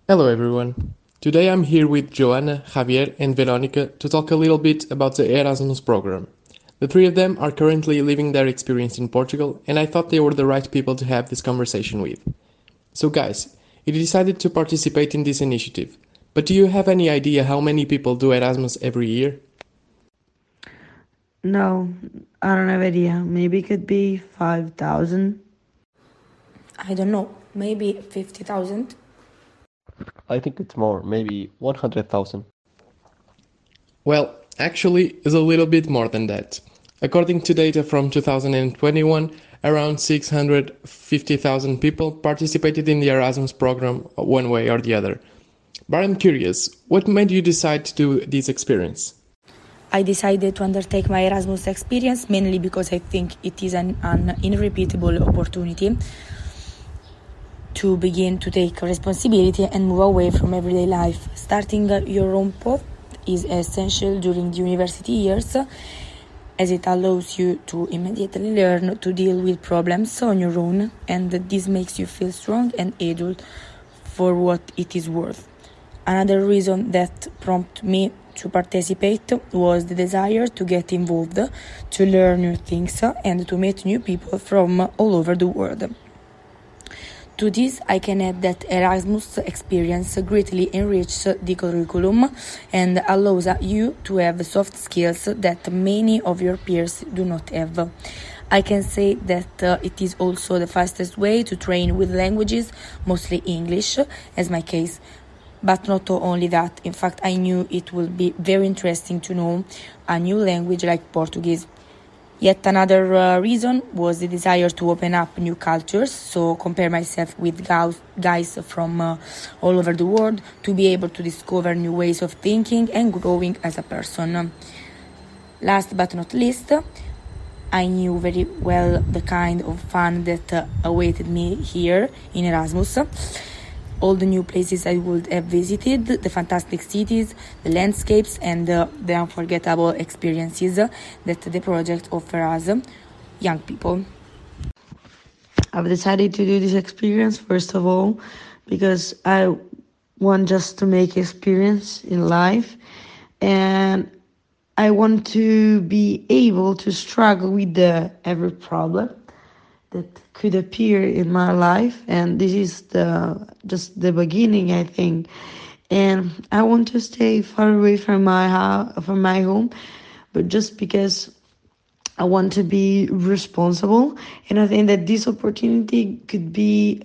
Hello everyone. Today I'm here with Joanna, Javier, and Veronica to talk a little bit about the Erasmus program. The three of them are currently living their experience in Portugal, and I thought they were the right people to have this conversation with. So, guys, you decided to participate in this initiative, but do you have any idea how many people do Erasmus every year? No, I don't have idea. Maybe it could be 5,000. I don't know, maybe 50,000? I think it's more, maybe 100,000. Well, actually, it's a little bit more than that. According to data from 2021, around 650,000 people participated in the Erasmus program one way or the other. But I'm curious, what made you decide to do this experience? I decided to undertake my Erasmus experience mainly because I think it is an irrepeatable opportunity to begin to take responsibility and move away from everyday life. Starting your own path is essential during the university years, as it allows you to immediately learn to deal with problems on your own, and this makes you feel strong and adult for what it is worth. Another reason that prompted me to participate was the desire to get involved, to learn new things, and to meet new people from all over the world. To this, I can add that Erasmus experience greatly enriches the curriculum and allows you to have soft skills that many of your peers do not have. I can say that it is also the fastest way to train with languages, mostly English, as my case. But not only that, in fact, I knew it would be very interesting to know a new language like Portuguese. Yet another reason was the desire to open up new cultures, so compare myself with guys from all over the world, to be able to discover new ways of thinking and growing as a person. Last but not least, I knew very well the kind of fun that awaited me here in Erasmus. All the new places I would have visited, the fantastic cities, the landscapes, and the unforgettable experiences that the project offers us, young people. I've decided to do this experience first of all because I want just to make experience in life, and I want to be able to struggle with the every problem that could appear in my life, and this is the just the beginning, I think. And I want to stay far away from my house, from my home, but just because I want to be responsible, and I think that this opportunity could be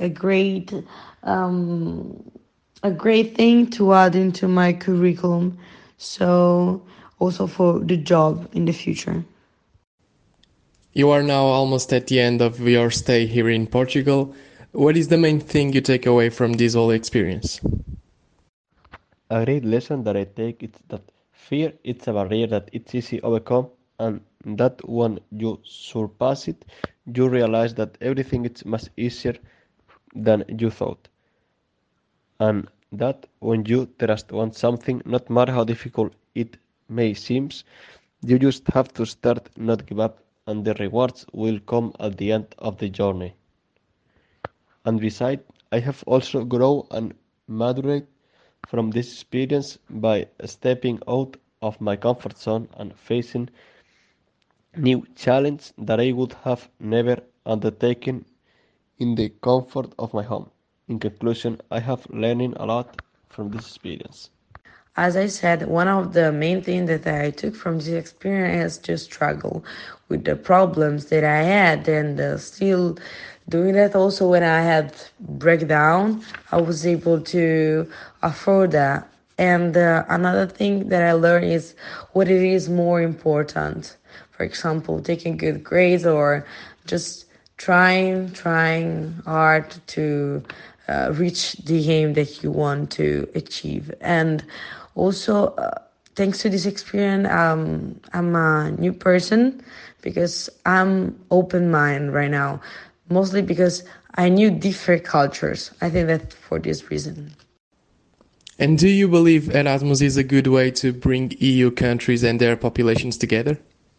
um, a great thing to add into my curriculum. So also for the job in the future. You are now almost at the end of your stay here in Portugal. What is the main thing you take away from this whole experience? A great lesson that I take is that fear is a barrier that it's easy to overcome, and that when you surpass it, you realize that everything is much easier than you thought. And that when you trust on something, not matter how difficult it may seem, you just have to start, not give up, and the rewards will come at the end of the journey. And besides, I have also grown and matured from this experience by stepping out of my comfort zone and facing new challenges that I would have never undertaken in the comfort of my home. In conclusion, I have learning a lot from this experience. As I said, one of the main things that I took from this experience is to struggle with the problems that I had, and still doing that. Also, when I had breakdown, I was able to afford that. And another thing that I learned is what it is more important. For example, taking good grades or just trying hard to reach the aim that you want to achieve. And also, thanks to this experience, I'm a new person because I'm open minded right now, mostly because I knew different cultures. I think that for this reason. And do you believe Erasmus is a good way to bring EU countries and their populations together?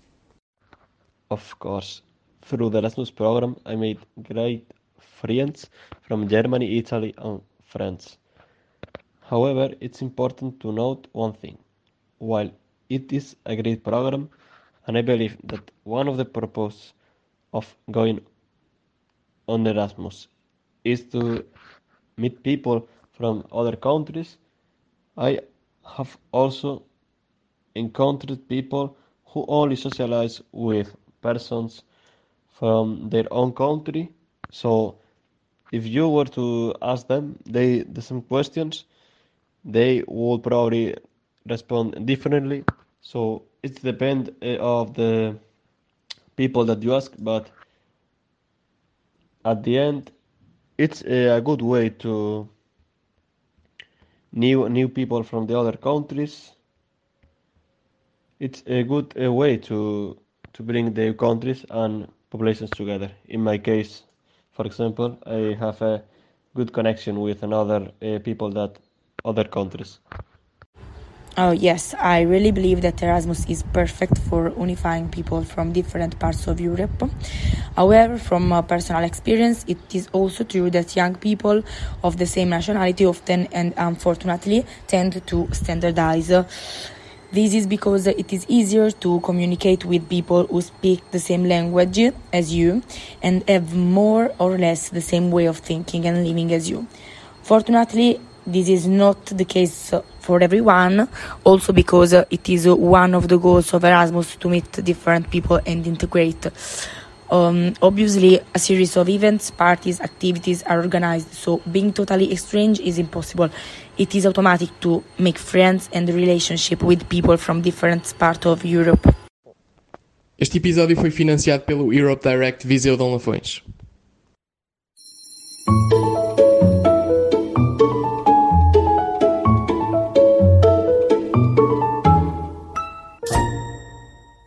Of course, through the Erasmus program, I made great friends from Germany, Italy, and France. However, it's important to note one thing. While it is a great program, and I believe that one of the purposes of going on Erasmus is to meet people from other countries, I have also encountered people who only socialize with persons from their own country. So if you were to ask them the same questions, they would probably respond differently. So it depends of the people that you ask, but at the end, it's a good way to new people from the other countries. It's a good way to bring the countries and populations together. In my case, for example, I have a good connection with another people that other countries. Oh, yes, I really believe that Erasmus is perfect for unifying people from different parts of Europe. However, from personal experience, it is also true that young people of the same nationality often and unfortunately tend to standardize. This is because it is easier to communicate with people who speak the same language as you and have more or less the same way of thinking and living as you. Fortunately, this is not the case for everyone, also because it is one of the goals of Erasmus to meet different people and integrate. Obviously, a series of events, parties, activities are organized, so being totally strange is impossible. It is automatic to make friends and relationship with people from different parts of Europe. Este episódio foi financiado pelo Europe Direct Viseu de Lafões.